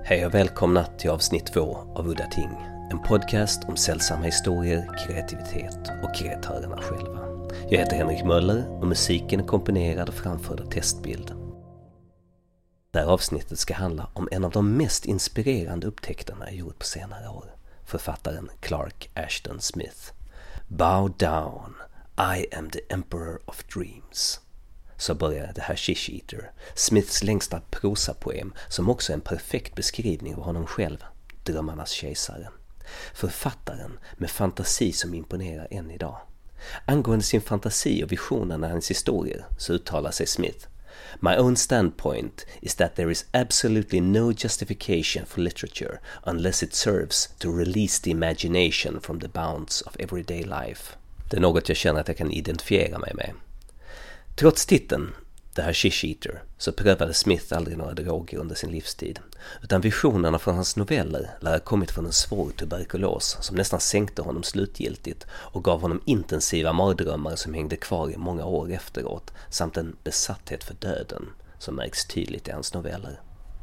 Hej och välkomna till avsnitt 2 av Udda Ting. En podcast om sällsamma historier, kreativitet och kreatörerna själva. Jag heter Henrik Möller och musiken är komponerad och framförd av Testbild. Det här avsnittet ska handla om en av de mest inspirerande upptäckterna jag gjort på senare år. Författaren Clark Ashton Smith. Bow down, I am the emperor of dreams. Så börjar The Hashish Eater, Smiths längsta prosapoem som också är en perfekt beskrivning av honom själv, drömmarnas kejsare. Författaren med fantasi som imponerar än idag. Angående sin fantasi och visionen av hans historier så uttalar sig Smith: My own standpoint is that there is absolutely no justification for literature unless it serves to release the imagination from the bounds of everyday life. Det är något jag känner att jag kan identifiera mig med. Trots titeln The Hashish Eater så prövade Smith aldrig några droger under sin livstid, utan visionerna från hans noveller lär ha kommit från en svår tuberkulos som nästan sänkte honom slutgiltigt och gav honom intensiva mardrömmar som hängde kvar i många år efteråt, samt en besatthet för döden som märks tydligt i hans noveller.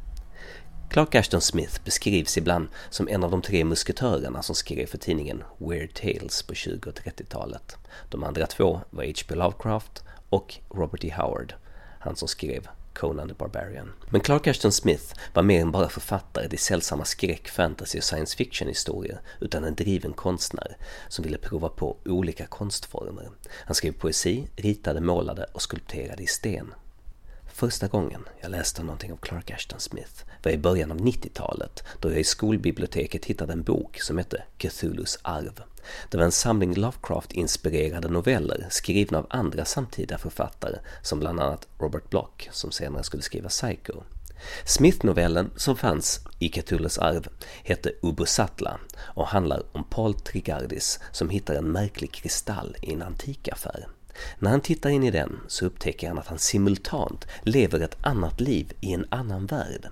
Clark Ashton Smith beskrivs ibland som en av de 3 musketörerna som skrev för tidningen Weird Tales på 20- och 30-talet. De andra 2 var H.P. Lovecraft och Robert E. Howard, han som skrev Conan the Barbarian. Men Clark Ashton Smith var mer än bara författare till sällsamma skräck, fantasy och science fiction-historier, utan en driven konstnär som ville prova på olika konstformer. Han skrev poesi, ritade, målade och skulpterade i sten. Första gången jag läste någonting av Clark Ashton Smith var i början av 90-talet, då jag i skolbiblioteket hittade en bok som hette Cthulhus arv. Det var en samling Lovecraft-inspirerade noveller skrivna av andra samtida författare, som bland annat Robert Bloch, som senare skulle skriva Psycho. Smith-novellen som fanns i Cthulhus arv hette Ubosatla och handlar om Paul Trigardis som hittar en märklig kristall i en antikaffär. När han tittar in i den så upptäcker han att han simultant lever ett annat liv i en annan värld.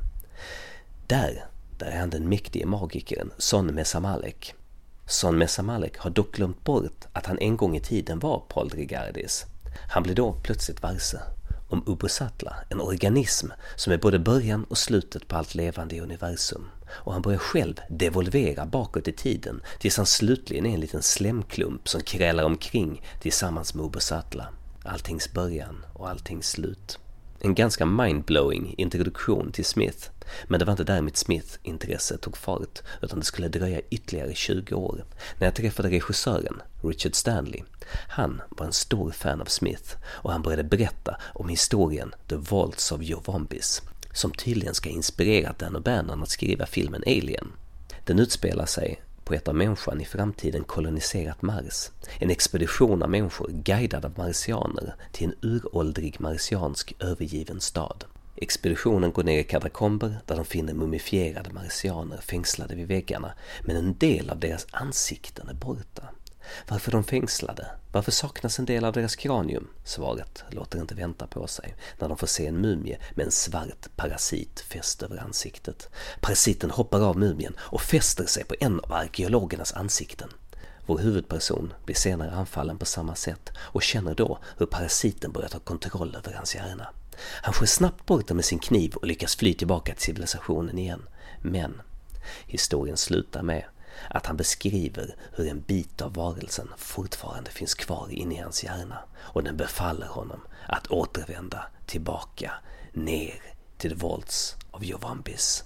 Där är han den mäktige magikern Son Mesamalek. Son Mesamalek har dock glömt bort att han en gång i tiden var Paul Trigardis. Han blir då plötsligt varse om Ubosatla, en organism som är både början och slutet på allt levande i universum. Och han börjar själv devolvera bakåt i tiden tills han slutligen är en liten slemklump som krälar omkring tillsammans med Ubosatla. Alltings början och alltings slut. En ganska mindblowing introduktion till Smith, men det var inte där mitt Smith-intresse tog fart, utan det skulle dröja ytterligare 20 år när jag träffade regissören Richard Stanley. Han var en stor fan av Smith och han började berätta om historien The Vaults of Yovombis, som tydligen ska inspirera Dan O'Bannon att skriva filmen Alien. Den utspelar sig på ett av människan i framtiden koloniserat Mars. En expedition av människor guidad av marsianer till en uråldrig marsiansk övergiven stad. Expeditionen går ner i katakomber där de finner mumifierade marsianer fängslade vid väggarna, men en del av deras ansikten är borta. Varför de fängslade? Varför saknas en del av deras kranium? Svaret låter inte vänta på sig när de får se en mumie med en svart parasit fäst över ansiktet. Parasiten hoppar av mumien och fäster sig på en av arkeologernas ansikten. Vår huvudperson blir senare anfallen på samma sätt och känner då hur parasiten börjar ta kontroll över hans hjärna. Han skär snabbt bort den med sin kniv och lyckas fly tillbaka till civilisationen igen. Men historien slutar med att han beskriver hur en bit av varelsen fortfarande finns kvar inne i hans hjärna och den befaller honom att återvända tillbaka ner till The Vaults of Yovombis.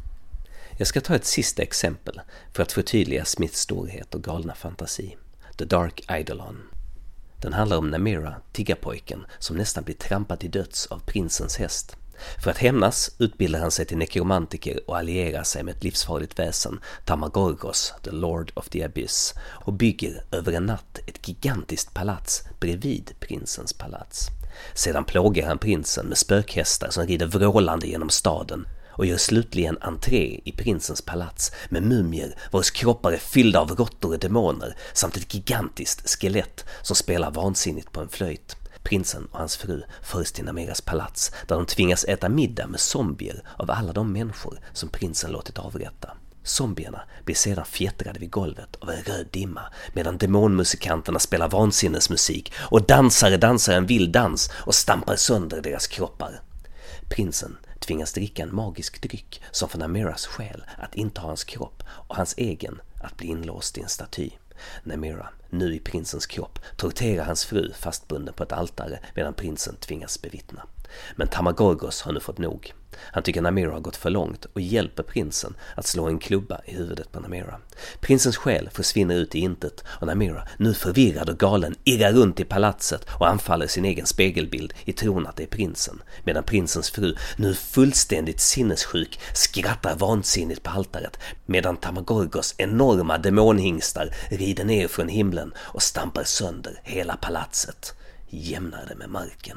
Jag ska ta ett sista exempel för att förtydliga Smiths storhet och galna fantasi. The Dark Eidolon. Den handlar om Namira, tiggarpojken, som nästan blir trampad till döds av prinsens häst. För att hämnas utbildar han sig till nekromantiker och allierar sig med ett livsfarligt väsen, Tamagorgos, the Lord of the Abyss, och bygger över en natt ett gigantiskt palats bredvid prinsens palats. Sedan plågar han prinsen med spökhästar som rider vrålande genom staden och gör slutligen entré i prinsens palats med mumier vars kroppar är fyllda av råttor och demoner samt ett gigantiskt skelett som spelar vansinnigt på en flöjt. Prinsen och hans fru förs till Namiras palats där de tvingas äta middag med zombier av alla de människor som prinsen låtit avrätta. Zombierna blir sedan fjättrade vid golvet av en röd dimma medan demonmusikanterna spelar vansinnesmusik och dansare dansar en vild dans och stampar sönder deras kroppar. Prinsen tvingas dricka en magisk dryck som får Namiras själ att inta hans kropp och hans egen att bli inlåst i en staty. Namira, nu i prinsens kropp, torterar hans fru fastbunden på ett altare medan prinsen tvingas bevittna. Men Tamagorgos har nu fått nog. Han tycker Namira har gått för långt och hjälper prinsen att slå en klubba i huvudet på Namira. Prinsens själ försvinner ut i intet och Namira, nu förvirrad och galen, irrar runt i palatset och anfaller sin egen spegelbild i tron att det är prinsen. Medan prinsens fru, nu fullständigt sinnessjuk, skrattar vansinnigt på altaret medan Tamagorgos enorma demonhingstar rider ner från himlen och stampar sönder hela palatset, jämnar det med marken.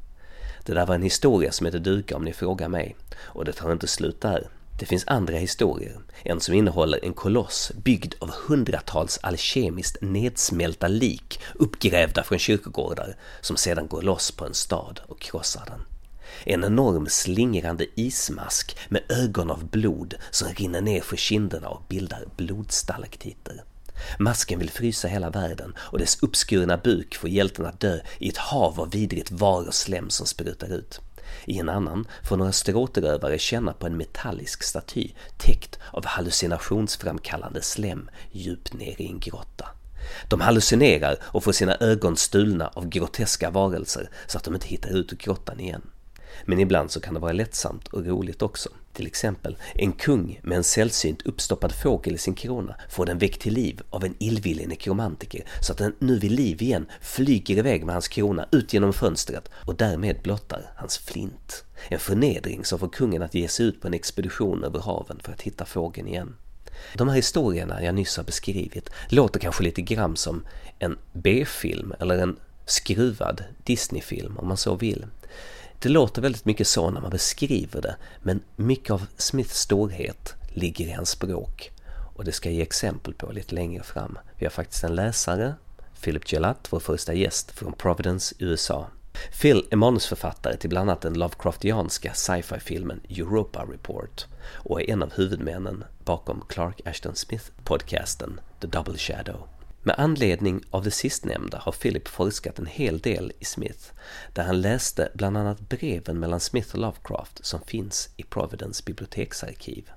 Det där var en historia som heter duga om ni frågar mig, och det tar inte slut där. Det finns andra historier, en som innehåller en koloss byggd av hundratals alkemiskt nedsmälta lik uppgrävda från kyrkogårdar som sedan går loss på en stad och krossar den. En enorm slingrande ismask med ögon av blod som rinner ner för kinderna och bildar blodstalaktitter. Masken vill frysa hela världen och dess uppskurna buk får hjälten att dö i ett hav av vidrigt var och slem som sprutar ut. I en annan får några stråtrövare känna på en metallisk staty täckt av hallucinationsframkallande slem djupt ner i en grotta. De hallucinerar och får sina ögon stulna av groteska varelser så att de inte hittar ut ur grottan igen. Men ibland så kan det vara lättsamt och roligt också. Till exempel, en kung med en sällsynt uppstoppad fågel i sin krona får den väckt till liv av en illvillig nekromantiker så att den nu vid liv igen flyger iväg med hans krona ut genom fönstret och därmed blottar hans flint. En förnedring som får kungen att ge sig ut på en expedition över haven för att hitta fågeln igen. De här historierna jag nyss har beskrivit låter kanske lite grann som en B-film eller en skruvad Disney-film om man så vill. Det låter väldigt mycket så när man beskriver det, men mycket av Smiths storhet ligger i hans språk. Och det ska jag ge exempel på lite längre fram. Vi har faktiskt en läsare, Philip Gelatt, vår första gäst från Providence, USA. Phil är manusförfattare till bland annat den Lovecraftianska sci-fi-filmen Europa Report och är en av huvudmännen bakom Clark Ashton Smith-podcasten The Double Shadow. Med anledning av det sistnämnda har Philip forskat en hel del i Smith, där han läste bland annat breven mellan Smith och Lovecraft som finns i Providence biblioteksarkiv.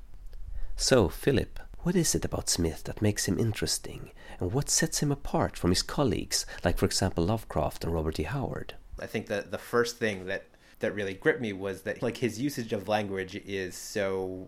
So, Philip, what is it about Smith that makes him interesting, and what sets him apart from his colleagues, like for example Lovecraft and Robert E. Howard? I think that the first thing that really gripped me was that like his usage of language is so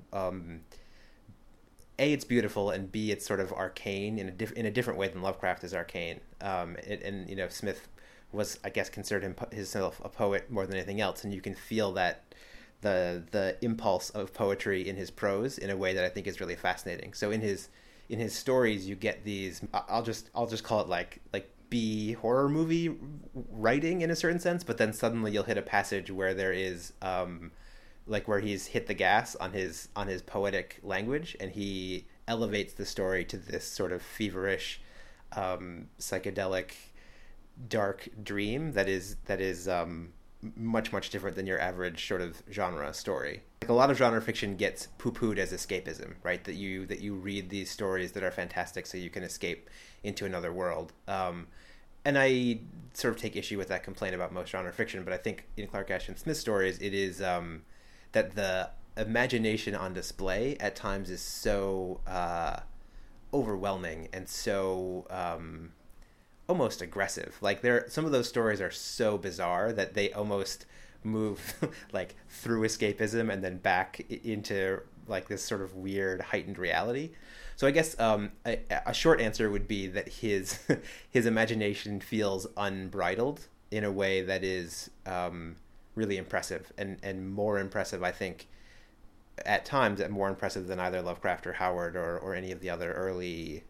A, it's beautiful, and B, it's sort of arcane in a different way than Lovecraft is arcane. And you know, Smith was, I guess, considered himself a poet more than anything else, and you can feel that the impulse of poetry in his prose in a way that I think is really fascinating. So in his stories, you get these. I'll just call it like B horror movie writing in a certain sense, but then suddenly you'll hit a passage where there is like where he's hit the gas on his poetic language, and he elevates the story to this sort of feverish, psychedelic, dark dream that is much different than your average sort of genre story. Like a lot of genre fiction gets poo-pooed as escapism, right? That you read these stories that are fantastic so you can escape into another world. And I sort of take issue with that complaint about most genre fiction, but I think in Clark Ashton Smith stories, it is that the imagination on display at times is so overwhelming and so almost aggressive. Like some of those stories are so bizarre that they almost move like through escapism and then back into like this sort of weird heightened reality. So I guess a short answer would be that his imagination feels unbridled in a way that is really impressive and more impressive, I think, at times, and more impressive than either Lovecraft or Howard or any of the other early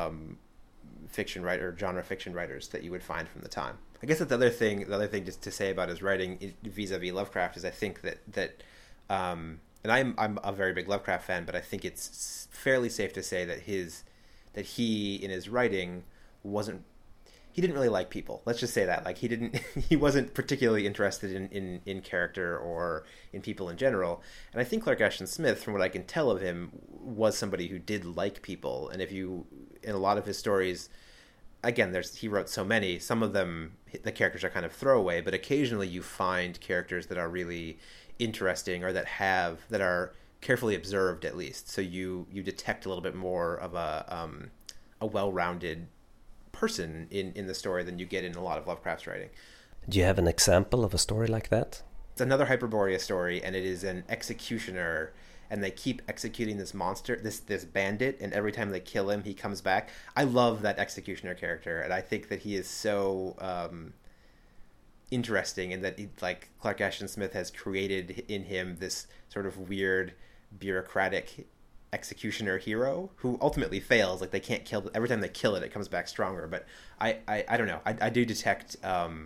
genre fiction writers that you would find from the time. I guess that the other thing just to say about his writing vis-a-vis Lovecraft is I think that and I'm a very big Lovecraft fan, but I think it's fairly safe to say that he in his writing he didn't really like people. Let's just say that. Like he wasn't particularly interested in character or in people in general. And I think Clark Ashton Smith, from what I can tell of him, was somebody who did like people. And in a lot of his stories, again, he wrote so many. Some of them, the characters are kind of throwaway, but occasionally you find characters that are really interesting or that are carefully observed at least. So you detect a little bit more of a well-rounded person in the story than you get in a lot of Lovecraft's writing. Do you have an example of a story like that? It's another Hyperborea story, and it is an executioner, and they keep executing this monster, this bandit, and every time they kill him, he comes back. I love that executioner character, and I think that he is so interesting, and that like Clark Ashton Smith has created in him this sort of weird bureaucratic executioner hero who ultimately fails. Like they can't kill every time they kill it comes back stronger. But I don't know. I do detect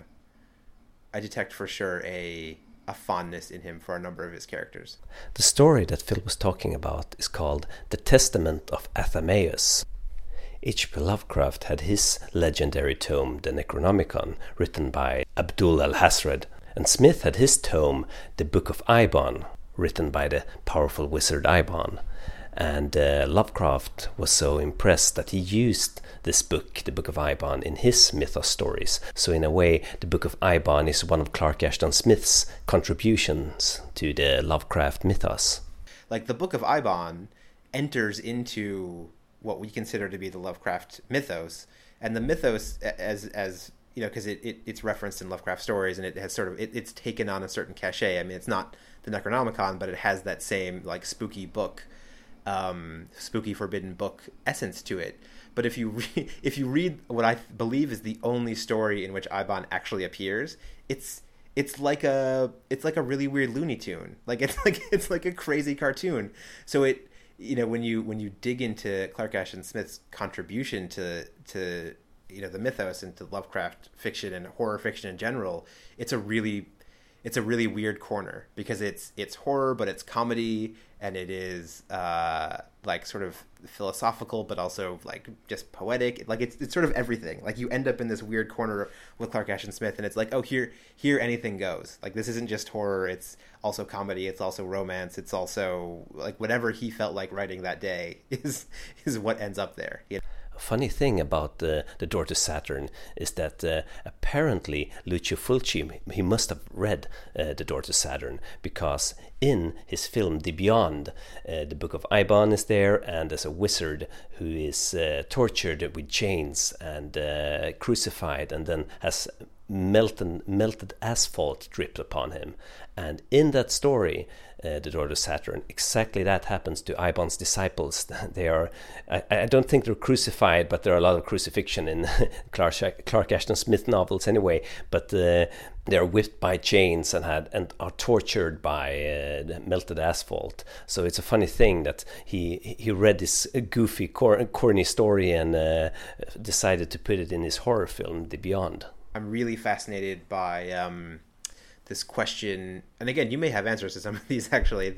for sure a fondness in him for a number of his characters. The story that Phil was talking about is called The Testament of Athamaeus. H.P. Lovecraft had his legendary tome, the Necronomicon, written by Abdul al-Hazred, and Smith had his tome, The Book of Eibon, written by the powerful wizard Eibon. And Lovecraft was so impressed that he used this book, the Book of Eibon, in his mythos stories. So in a way, the Book of Eibon is one of Clark Ashton Smith's contributions to the Lovecraft mythos. Like the Book of Eibon enters into what we consider to be the Lovecraft mythos, and the mythos as you know, because it's referenced in Lovecraft stories, and it has sort of it's taken on a certain cachet. I mean, it's not the Necronomicon, but it has that same like spooky book, spooky forbidden book essence to it. But if you read what I believe is the only story in which Eibon actually appears, it's like a really weird Looney Tune. It's like a crazy cartoon. So it, you know, when you dig into Clark Ashton Smith's contribution to you know the mythos and to Lovecraft fiction and horror fiction in general, it's a really weird corner, because it's horror, but it's comedy, and it is like sort of philosophical, but also like just poetic. Like it's sort of everything. Like you end up in this weird corner with Clark Ashton Smith, and it's like, oh, here anything goes. Like this isn't just horror, it's also comedy, it's also romance, it's also like whatever he felt like writing that day is what ends up there. You know? Funny thing about the Door to Saturn is that apparently Lucio Fulci, he must have read The Door to Saturn, because in his film The Beyond, the Book of Eibon is there, and there's a wizard who is tortured with chains and crucified, and then has melted asphalt dripped upon him. And in that story, The Door to Saturn, exactly that happens to Eibon's disciples. They are, I don't think they're crucified, but there are a lot of crucifixion in Clark Ashton Smith novels anyway. But they are whipped by chains and are tortured by melted asphalt. So it's a funny thing that he read this goofy, corny story and decided to put it in his horror film, The Beyond. I'm really fascinated by this question, and again, you may have answers to some of these actually.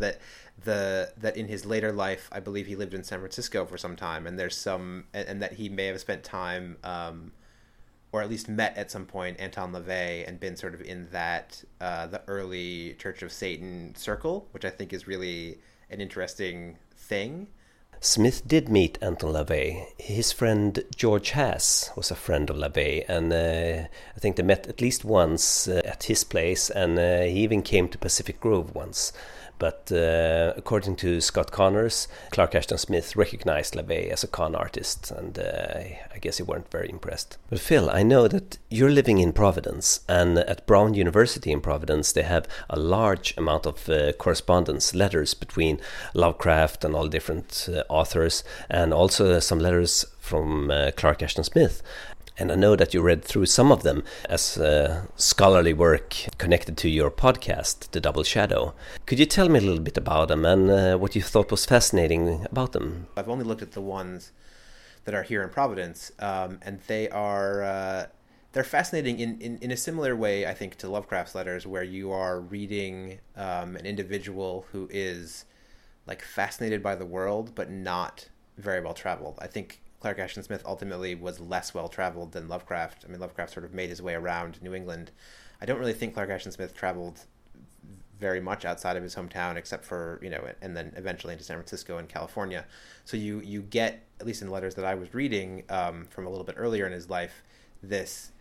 That in his later life, I believe he lived in San Francisco for some time, and and that he may have spent time, or at least met at some point Anton LaVey and been sort of in that the early Church of Satan circle, which I think is really an interesting thing. Smith did meet Anton LaVey. His friend George Haas was a friend of LaVey, and I think they met at least once at his place, and he even came to Pacific Grove once. But according to Scott Connors, Clark Ashton Smith recognized LaVey as a con artist, and I guess he weren't very impressed. But Phil, I know that you're living in Providence, and at Brown University in Providence they have a large amount of correspondence, letters between Lovecraft and all different authors, and also some letters from Clark Ashton Smith. And I know that you read through some of them as scholarly work connected to your podcast, The Double Shadow. Could you tell me a little bit about them and what you thought was fascinating about them? I've only looked at the ones that are here in Providence, and they're fascinating in a similar way, I think, to Lovecraft's letters, where you are reading an individual who is like fascinated by the world, but not very well traveled. I think Clark Ashton Smith ultimately was less well-traveled than Lovecraft. I mean, Lovecraft sort of made his way around New England. I don't really think Clark Ashton Smith traveled very much outside of his hometown, except for, you know, and then eventually into San Francisco and California. So you get at least in the letters that I was reading from a little bit earlier in his life, this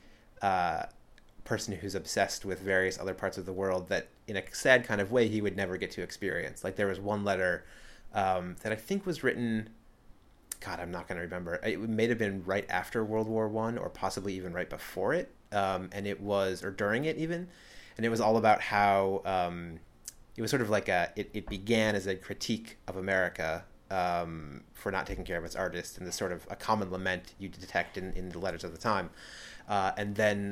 person who's obsessed with various other parts of the world that in a sad kind of way he would never get to experience. Like there was one letter that I think was written, God, I'm not going to remember. It may have been right after World War I or possibly even right before it. And it was, or during it even. And it was all about how it was sort of like it began as a critique of America for not taking care of its artists, and this sort of a common lament you detect in the letters of the time. And then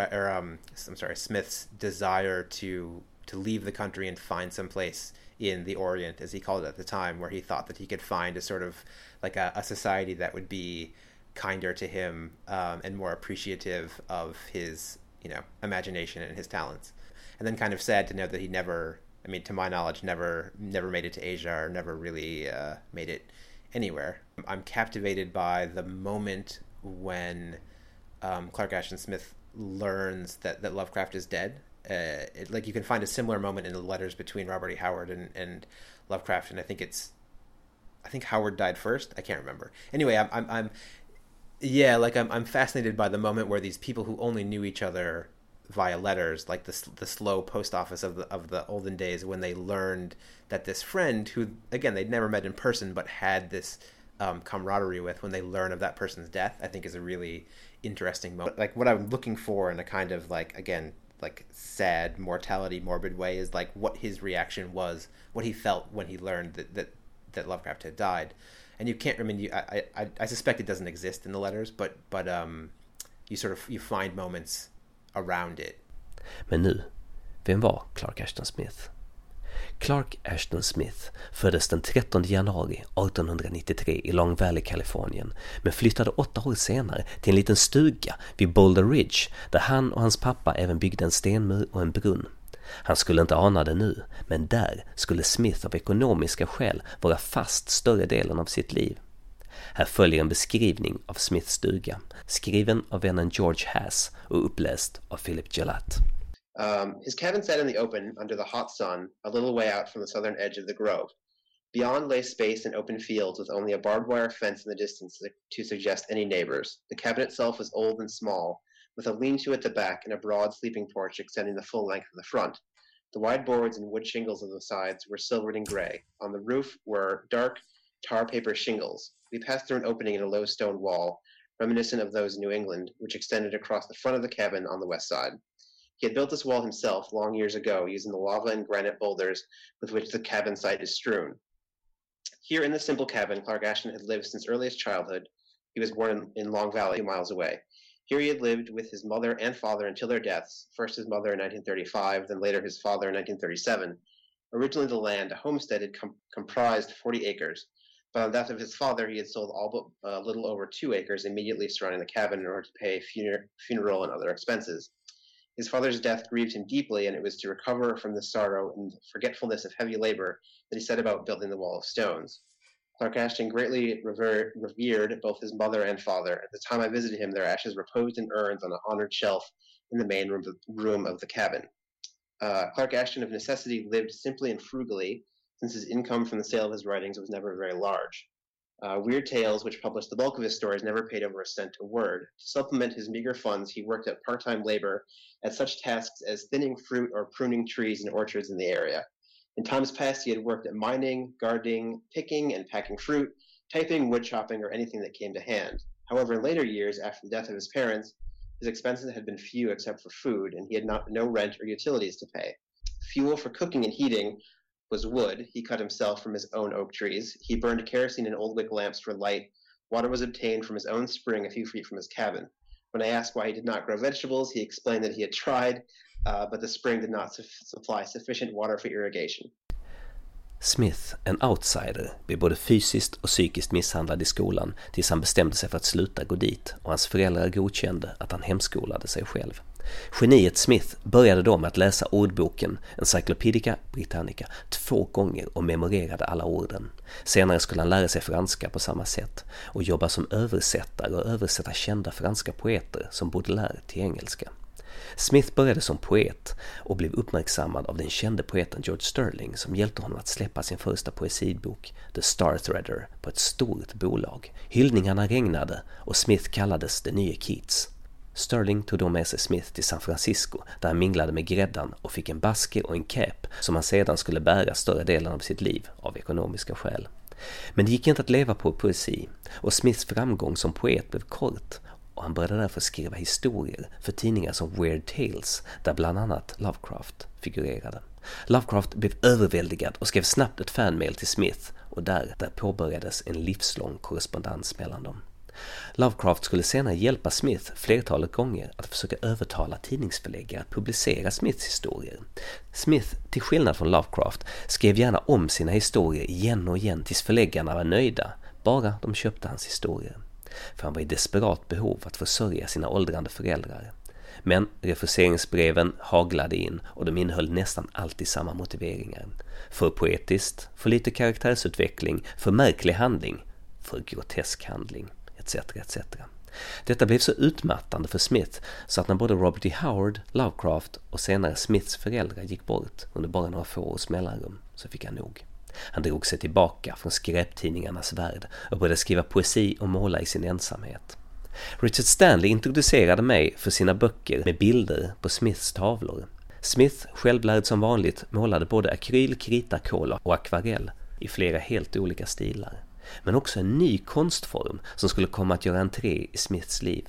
Smith's desire to leave the country and find some place in the Orient, as he called it at the time, where he thought that he could find a sort of like a society that would be kinder to him and more appreciative of his, imagination and his talents. And then kind of sad to know that he never, to my knowledge, never made it to Asia or never really made it anywhere. I'm captivated by the moment when Clark Ashton Smith learns that Lovecraft is dead. You can find a similar moment in the letters between Robert E. Howard and Lovecraft, and I think Howard died first. I can't remember. Anyway, I'm fascinated by the moment where these people who only knew each other via letters, like the slow post office of the olden days, when they learned that this friend who, again, they'd never met in person but had this camaraderie with, when they learn of that person's death, I think is a really interesting moment. Like what I'm looking for in a kind of sad mortality, morbid way is like what his reaction was, what he felt when he learned that Lovecraft had died. And you can't, I suspect it doesn't exist in the letters, but you find moments around it. Men nu, vem var Clark Ashton Smith? Clark Ashton Smith föddes den 13 januari 1893 i Long Valley, Kalifornien, men flyttade 8 år senare till en liten stuga vid Boulder Ridge där han och hans pappa även byggde en stenmur och en brunn. Han skulle inte ana det nu, men där skulle Smith av ekonomiska skäl vara fast större delen av sitt liv. Här följer en beskrivning av Smiths stuga, skriven av vännen George Haas och uppläst av Philip Gelatt. His cabin sat in the open under the hot sun, a little way out from the southern edge of the grove. Beyond lay space and open fields with only a barbed wire fence in the distance to suggest any neighbors. The cabin itself was old and small, with a lean-to at the back and a broad sleeping porch extending the full length of the front. The wide boards and wood shingles on the sides were silvered and gray. On the roof were dark tar paper shingles. We passed through an opening in a low stone wall, reminiscent of those in New England, which extended across the front of the cabin on the west side. He had built this wall himself long years ago using the lava and granite boulders with which the cabin site is strewn. Here in the simple cabin, Clark Ashton had lived since earliest childhood. He was born in Long Valley, 2 miles away. Here he had lived with his mother and father until their deaths, first his mother in 1935, then later his father in 1937. Originally the land, a homestead, had comprised 40 acres, but on the death of his father he had sold all but a little over 2 acres immediately surrounding the cabin in order to pay funeral and other expenses. His father's death grieved him deeply, and it was to recover from the sorrow and forgetfulness of heavy labor that he set about building the wall of stones. Clark Ashton greatly revered both his mother and father. At the time I visited him, their ashes reposed in urns on an honored shelf in the main room of the cabin. Clark Ashton of necessity lived simply and frugally, since his income from the sale of his writings was never very large. Weird Tales, which published the bulk of his stories, never paid over a cent a word. To supplement his meager funds, he worked at part-time labor at such tasks as thinning fruit or pruning trees in orchards in the area. In times past, he had worked at mining, gardening, picking and packing fruit, typing, wood chopping, or anything that came to hand. However, in later years, after the death of his parents, his expenses had been few except for food, and he had no rent or utilities to pay. Fuel for cooking and heating was wood he cut himself from his own oak trees. He burned kerosene in old wick lamps for light. Water was obtained from his own spring a few feet from his cabin. When I asked why he did not grow vegetables, he explained that he had tried, but the spring did not supply sufficient water for irrigation. Smith, en outsider, blev både fysiskt och psykiskt misshandlad i skolan tills han bestämde sig för att sluta gå dit, och hans föräldrar godkände att han hemskolade sig själv. Geniet Smith började då med att läsa ordboken Encyclopædia Britannica 2 gånger och memorerade alla orden. Senare skulle han lära sig franska på samma sätt och jobba som översättare och översätta kända franska poeter som Baudelaire till engelska. Smith började som poet och blev uppmärksammad av den kände poeten George Sterling som hjälpte honom att släppa sin första poesibok The Star Threader på ett stort bolag. Hyllningarna regnade och Smith kallades den nya Keats. Sterling tog då med sig Smith till San Francisco där han minglade med gräddan och fick en basker och en cap som han sedan skulle bära större delen av sitt liv av ekonomiska skäl. Men det gick inte att leva på poesi och Smiths framgång som poet blev kort och han började därför skriva historier för tidningar som Weird Tales där bland annat Lovecraft figurerade. Lovecraft blev överväldigad och skrev snabbt ett fanmail till Smith och där påbörjades en livslång korrespondens mellan dem. Lovecraft skulle senare hjälpa Smith flertalet gånger att försöka övertala tidningsförläggare att publicera Smiths historier. Smith, till skillnad från Lovecraft, skrev gärna om sina historier igen och igen tills förläggarna var nöjda, bara de köpte hans historier. För han var i desperat behov att försörja sina åldrande föräldrar. Men refuseringsbreven haglade in och de innehöll nästan alltid samma motiveringar. För poetiskt, för lite karaktärsutveckling, för märklig handling, för grotesk handling. Etc. Detta blev så utmattande för Smith så att när både Robert E. Howard, Lovecraft och senare Smiths föräldrar gick bort under bara några få års mellanrum så fick han nog. Han drog sig tillbaka från skräptidningarnas värld och började skriva poesi och måla i sin ensamhet. Richard Stanley introducerade mig för sina böcker med bilder på Smiths tavlor. Smith, självlärd som vanligt, målade både akryl, krita, kola och akvarell i flera helt olika stilar. Men också en ny konstform som skulle komma att göra entré i Smiths liv.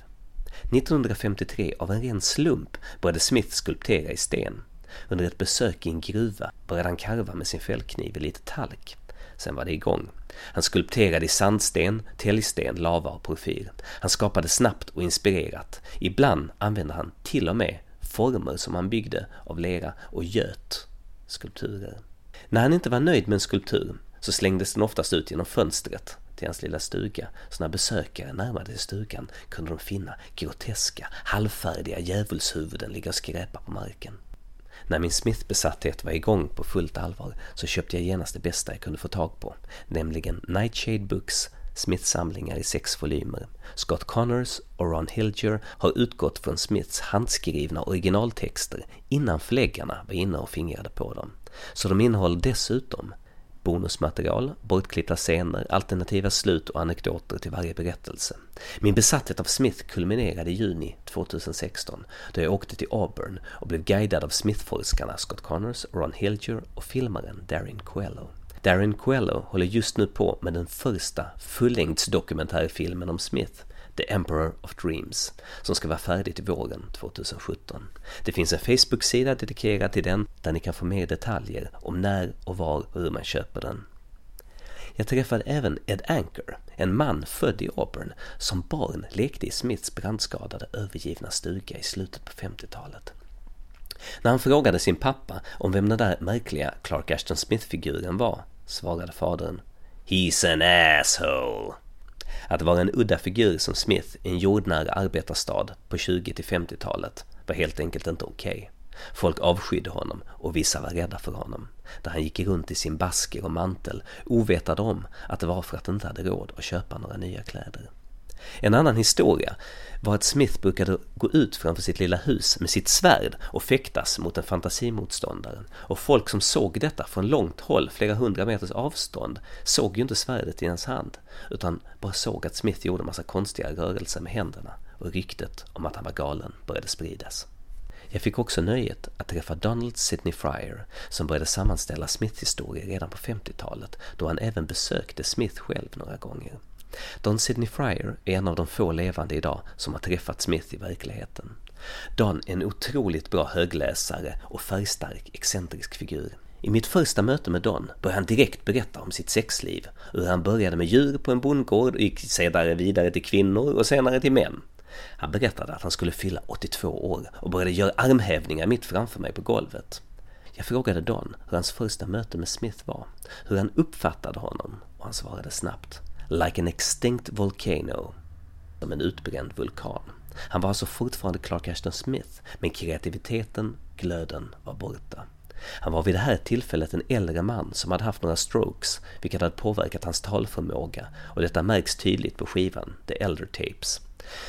1953 av en ren slump började Smith skulptera i sten. Under ett besök i en gruva började han karva med sin fällkniv i lite talk. Sen var det igång. Han skulpterade i sandsten, täljsten, lava och porfyr. Han skapade snabbt och inspirerat. Ibland använde han till och med former som han byggde av lera och göt skulpturer. När han inte var nöjd med en skulptur så slängdes den oftast ut genom fönstret till hans lilla stuga. Så när besökare närmade sig stugan kunde de finna groteska, halvfärdiga djävulshuvuden ligga och skräpa på marken. När min Smith-besatthet var igång på fullt allvar så köpte jag genast det bästa jag kunde få tag på, nämligen Nightshade Books, Smith-samlingar i 6 volymer. Scott Connors och Ron Hilger har utgått från Smiths handskrivna originaltexter innan förläggarna var inne och fingrade på dem. Så de innehåller dessutom bonusmaterial, bortklippta scener, alternativa slut och anekdoter till varje berättelse. Min besatthet av Smith kulminerade i juni 2016 då jag åkte till Auburn och blev guidad av Smith-forskarna Scott Connors, Ron Hilger och filmaren Darren Coelho. Darren Coelho håller just nu på med den första fullängdsdokumentärfilmen om Smith, The Emperor of Dreams, som ska vara färdig till våren 2017. Det finns en Facebook-sida dedikerad till den där ni kan få mer detaljer om när och var och hur man köper den. Jag träffade även Ed Anker, en man född i Auburn som barn lekte i Smiths brandskadade övergivna stuga i slutet på 50-talet. När han frågade sin pappa om vem den där märkliga Clark Ashton Smith-figuren var, svarade fadern: "He's an asshole." Att vara en udda figur som Smith i en jordnära arbetarstad på 20-50-talet var helt enkelt inte okej. Folk avskydde honom och vissa var rädda för honom, där han gick runt i sin basker och mantel ovetade om att det var för att han inte hade råd att köpa några nya kläder. En annan historia var att Smith brukade gå ut framför sitt lilla hus med sitt svärd och fäktas mot en fantasimotståndare. Och folk som såg detta från långt håll, flera 100 meters avstånd, såg ju inte svärdet i hans hand utan bara såg att Smith gjorde en massa konstiga rörelser med händerna och ryktet om att han var galen började spridas. Jag fick också nöjet att träffa Donald Sidney Fryer som började sammanställa Smith-historier redan på 50-talet då han även besökte Smith själv några gånger. Don Sidney Fryer är en av de få levande idag som har träffat Smith i verkligheten. Don är en otroligt bra högläsare och färgstark, excentrisk figur. I mitt första möte med Don började han direkt berätta om sitt sexliv, hur han började med djur på en bondgård och gick sedan vidare till kvinnor och senare till män. Han berättade att han skulle fylla 82 år och började göra armhävningar mitt framför mig på golvet. Jag frågade Don hur hans första möte med Smith var, hur han uppfattade honom och han svarade snabbt: "Like an extinct volcano", som en utbränd vulkan. Han var alltså fortfarande Clark Ashton Smith, men kreativiteten, glöden var borta. Han var vid det här tillfället en äldre man som hade haft några strokes, vilket hade påverkat hans talförmåga, och detta märks tydligt på skivan The Elder Tapes.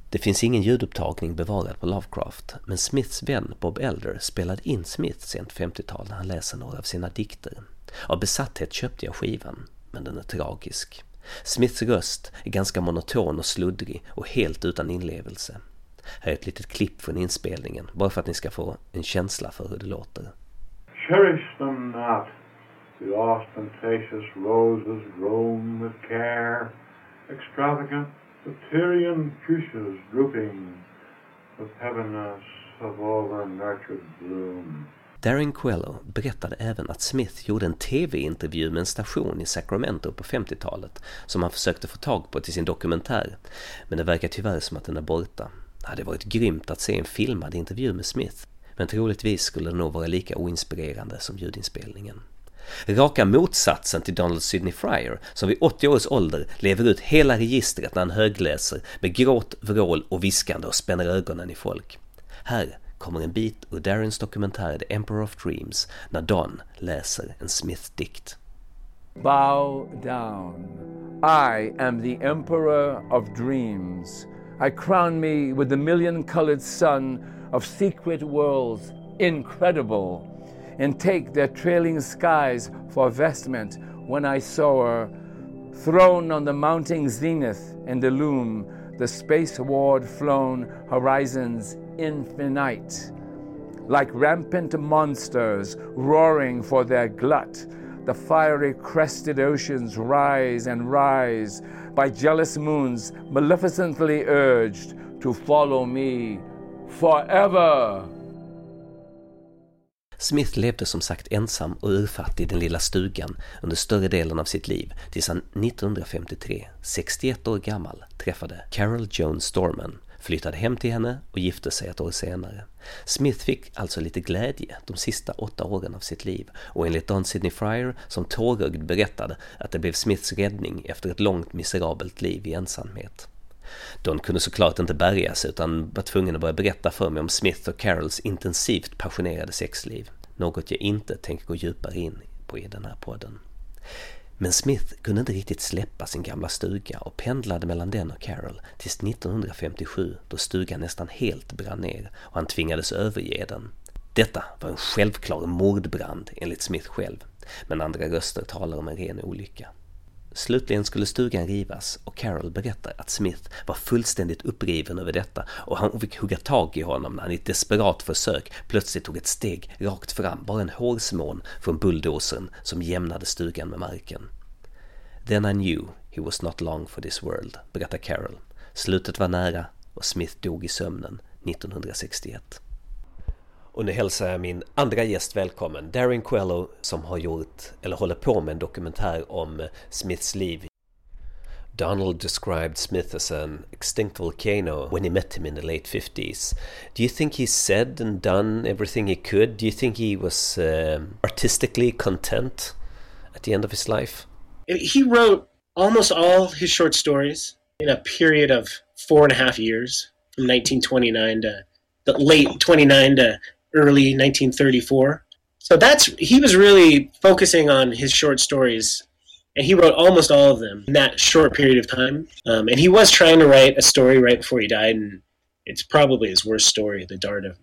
Det finns ingen ljudupptagning bevarad på Lovecraft, men Smiths vän Bob Elder spelade in Smith sent 50-tal när han läser några av sina dikter. Av besatthet köpte jag skivan, men den är tragisk. Smiths röst är ganska monoton och sluddrig och helt utan inlevelse. Här är ett litet klipp från inspelningen, bara för att ni ska få en känsla för hur det låter. Cherish them not, the ostentatious roses grown with care, extravagant Tyrian fuchsias drooping with heaviness of over-nurtured bloom. Darren Quello berättade även att Smith gjorde en tv-intervju med en station i Sacramento på 50-talet som han försökte få tag på till sin dokumentär, men det verkar tyvärr som att den är borta. Det hade varit grymt att se en filmad intervju med Smith, men troligtvis skulle det nog vara lika oinspirerande som ljudinspelningen. Raka motsatsen till Donald Sidney Fryer, som vid 80 års ålder lever ut hela registret när han högläser med gråt, vrål och viskande och spänner ögonen i folk. Här kommer en bit ur Darrens dokumentär The Emperor of Dreams när Don läser en Smith-dikt. Bow down. I am the Emperor of Dreams. I crown me with the million-colored sun of secret worlds, incredible, and take their trailing skies for vestment when I soar. Throned on the mounting zenith and illume the space-ward-flown horizons infinite. Like rampant monsters roaring for their glut, the fiery crested oceans rise and rise, by jealous moons maleficently urged to follow me forever. Smith levde som sagt ensam och urfattig i den lilla stugan under större delen av sitt liv tills han 1953, 61 år gammal, träffade Carol Joan Storman, flyttade hem till henne och gifte sig ett år senare. Smith fick alltså lite glädje de sista 8 åren av sitt liv, och enligt Don Sidney Fryer som tårögd berättade att det blev Smiths räddning efter ett långt miserabelt liv i ensamhet. Don kunde såklart inte bärga sig utan var tvungen att börja berätta för mig om Smith och Carols intensivt passionerade sexliv, något jag inte tänker gå djupare in på i den här podden. Men Smith kunde inte riktigt släppa sin gamla stuga och pendlade mellan den och Carol tills 1957 då stugan nästan helt brann ner och han tvingades överge den. Detta var en självklar mordbrand enligt Smith själv, men andra röster talar om en ren olycka. Slutligen skulle stugan rivas och Carol berättar att Smith var fullständigt uppriven över detta och han fick hugga tag i honom när han i ett desperat försök plötsligt tog ett steg rakt fram, bara en hårsmån från bulldozern som jämnade stugan med marken. Then I knew he was not long for this world, berättar Carol. Slutet var nära och Smith dog i sömnen 1961. Och nu hälsar jag min andra gäst välkommen, Darren Quello, som har gjort, eller håller på med en dokumentär om Smiths liv. Donald described Smith as an extinct volcano when he met him in the late 50s. Do you think he said and done everything he could? Do you think he was artistically content at the end of his life? He wrote almost all his short stories in a period of 4.5 years, from 1929 to the late 29 to early 1934. So he was really focusing on his short stories, and he wrote almost all of them in that short period of time. And he was trying to write a story right before he died, and it's probably his worst story, The Dart of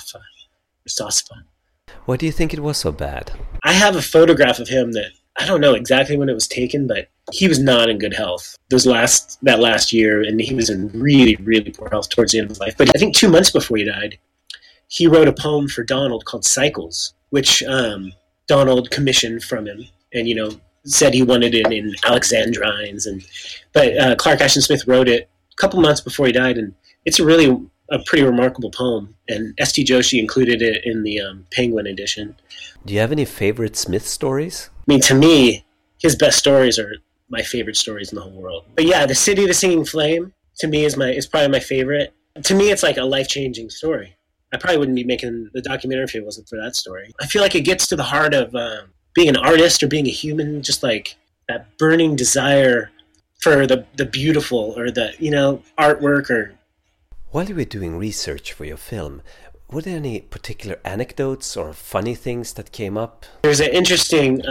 Rosaspa. Why do you think it was so bad? I have a photograph of him that I don't know exactly when it was taken, but he was not in good health that last year, and he was in really, really poor health towards the end of his life. But I think 2 months before he died, he wrote a poem for Donald called Cycles, which Donald commissioned from him, and said he wanted it in Alexandrines, but Clark Ashton Smith wrote it a couple months before he died, and it's really a pretty remarkable poem, and S.T. Joshi included it in the Penguin edition. Do you have any favorite Smith stories? I mean, to me, his best stories are my favorite stories in the whole world. But yeah, The City of the Singing Flame, to me, is probably my favorite. To me, it's like a life-changing story. I probably wouldn't be making the documentary if it wasn't for that story. I feel like it gets to the heart of being an artist or being a human, just like that burning desire for the beautiful or the, artwork or... While you were doing research for your film, were there any particular anecdotes or funny things that came up? There's an interesting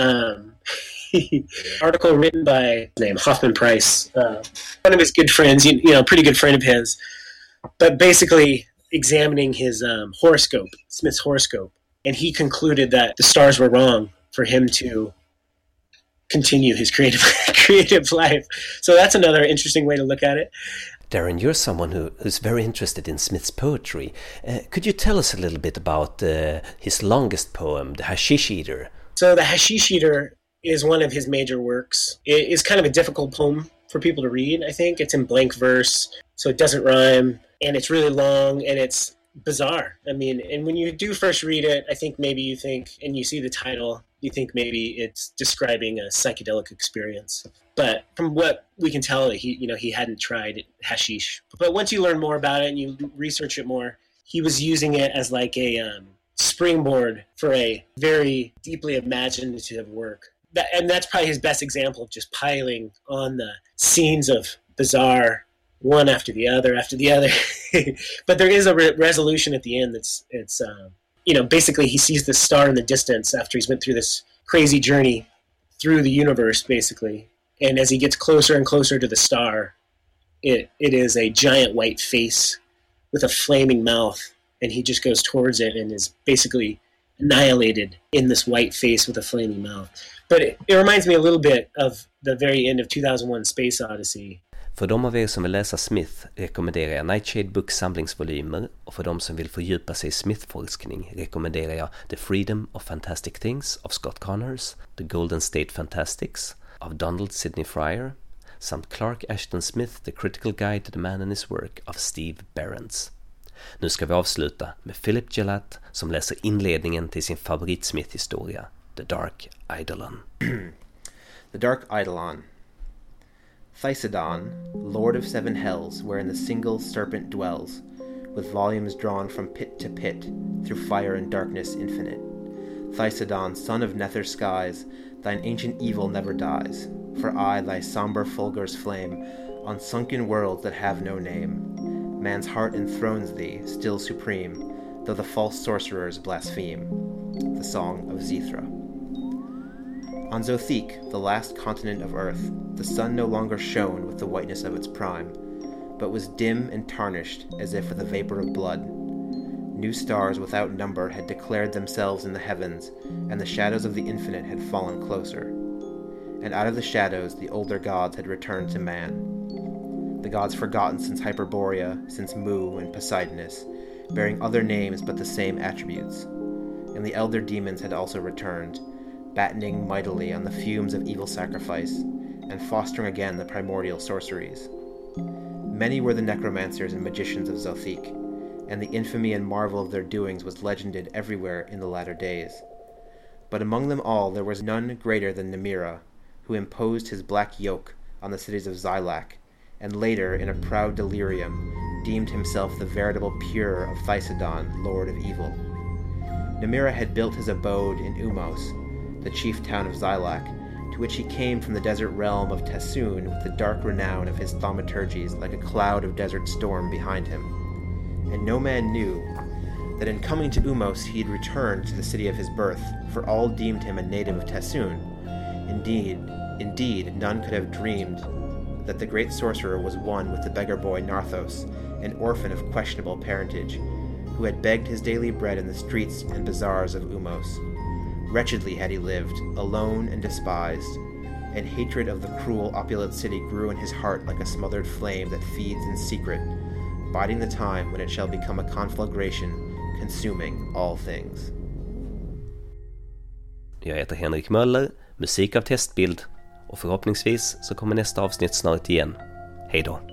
article written by Hoffman Price, one of his good friends, pretty good friend of his, but basically examining his horoscope, Smith's horoscope, and he concluded that the stars were wrong for him to continue his creative life. So that's another interesting way to look at it. Darren, you're someone who's very interested in Smith's poetry. Could you tell us a little bit about his longest poem, The Hashish Eater? So The Hashish Eater is one of his major works. It is kind of a difficult poem for people to read, I think. It's in blank verse, so it doesn't rhyme, and it's really long, and it's bizarre. I mean, and when you do first read it, I think maybe you think, and you see the title, you think maybe it's describing a psychedelic experience. But from what we can tell, he hadn't tried hashish. But once you learn more about it and you research it more, he was using it as like a springboard for a very deeply imaginative work. And that's probably his best example of just piling on the scenes of bizarre, one after the other. But there is a resolution at the end that's basically he sees the star in the distance after he's went through this crazy journey through the universe, basically. And as he gets closer and closer to the star, it is a giant white face with a flaming mouth, and he just goes towards it and is basically annihilated in this white face with a flaming mouth. But it reminds me a little bit of the very end of 2001 Space Odyssey. För de av er som vill läsa Smith rekommenderar jag Nightshade Books samlingsvolymer, och för de som vill fördjupa sig i Smith-forskning rekommenderar jag The Freedom of Fantastic Things av Scott Connors, The Golden State Fantastics av Donald Sidney Fryer, samt Clark Ashton Smith, The Critical Guide to the Man and His Work av Steve Behrens. Nu ska vi avsluta med Philip Gillett som läser inledningen till sin favorit-Smith-historia, The Dark Eidolon. The Dark Eidolon. Thysodon, lord of seven hells, wherein the single serpent dwells, with volumes drawn from pit to pit, through fire and darkness infinite. Thysodon, son of nether skies, thine ancient evil never dies, for I, thy sombre fulgur's flame, on sunken worlds that have no name. Man's heart enthrones thee, still supreme, though the false sorcerers blaspheme. The Song of Zethra. On Zothique, the last continent of Earth, the sun no longer shone with the whiteness of its prime, but was dim and tarnished as if with a vapor of blood. New stars without number had declared themselves in the heavens, and the shadows of the infinite had fallen closer. And out of the shadows the older gods had returned to man. The gods forgotten since Hyperborea, since Mu and Poseidonus, bearing other names but the same attributes. And the elder demons had also returned, battening mightily on the fumes of evil sacrifice, and fostering again the primordial sorceries. Many were the necromancers and magicians of Zothique, and the infamy and marvel of their doings was legended everywhere in the latter days. But among them all there was none greater than Nemira, who imposed his black yoke on the cities of Xylac, and later, in a proud delirium, deemed himself the veritable Pure of Thysodon, lord of evil. Nemira had built his abode in Umos, the chief town of Xylac, to which he came from the desert realm of Tassoon with the dark renown of his thaumaturgies like a cloud of desert storm behind him. And no man knew that in coming to Umos he had returned to the city of his birth, for all deemed him a native of Tassoon. Indeed, none could have dreamed that the great sorcerer was one with the beggar boy Narthos, an orphan of questionable parentage, who had begged his daily bread in the streets and bazaars of Umos. Wretchedly had he lived, alone and despised, and hatred of the cruel, opulent city grew in his heart like a smothered flame that feeds in secret, biding the time when it shall become a conflagration, consuming all things. Jag heter Henrik Möller, musik av Testbild, och förhoppningsvis så kommer nästa avsnitt snart igen. Hej då!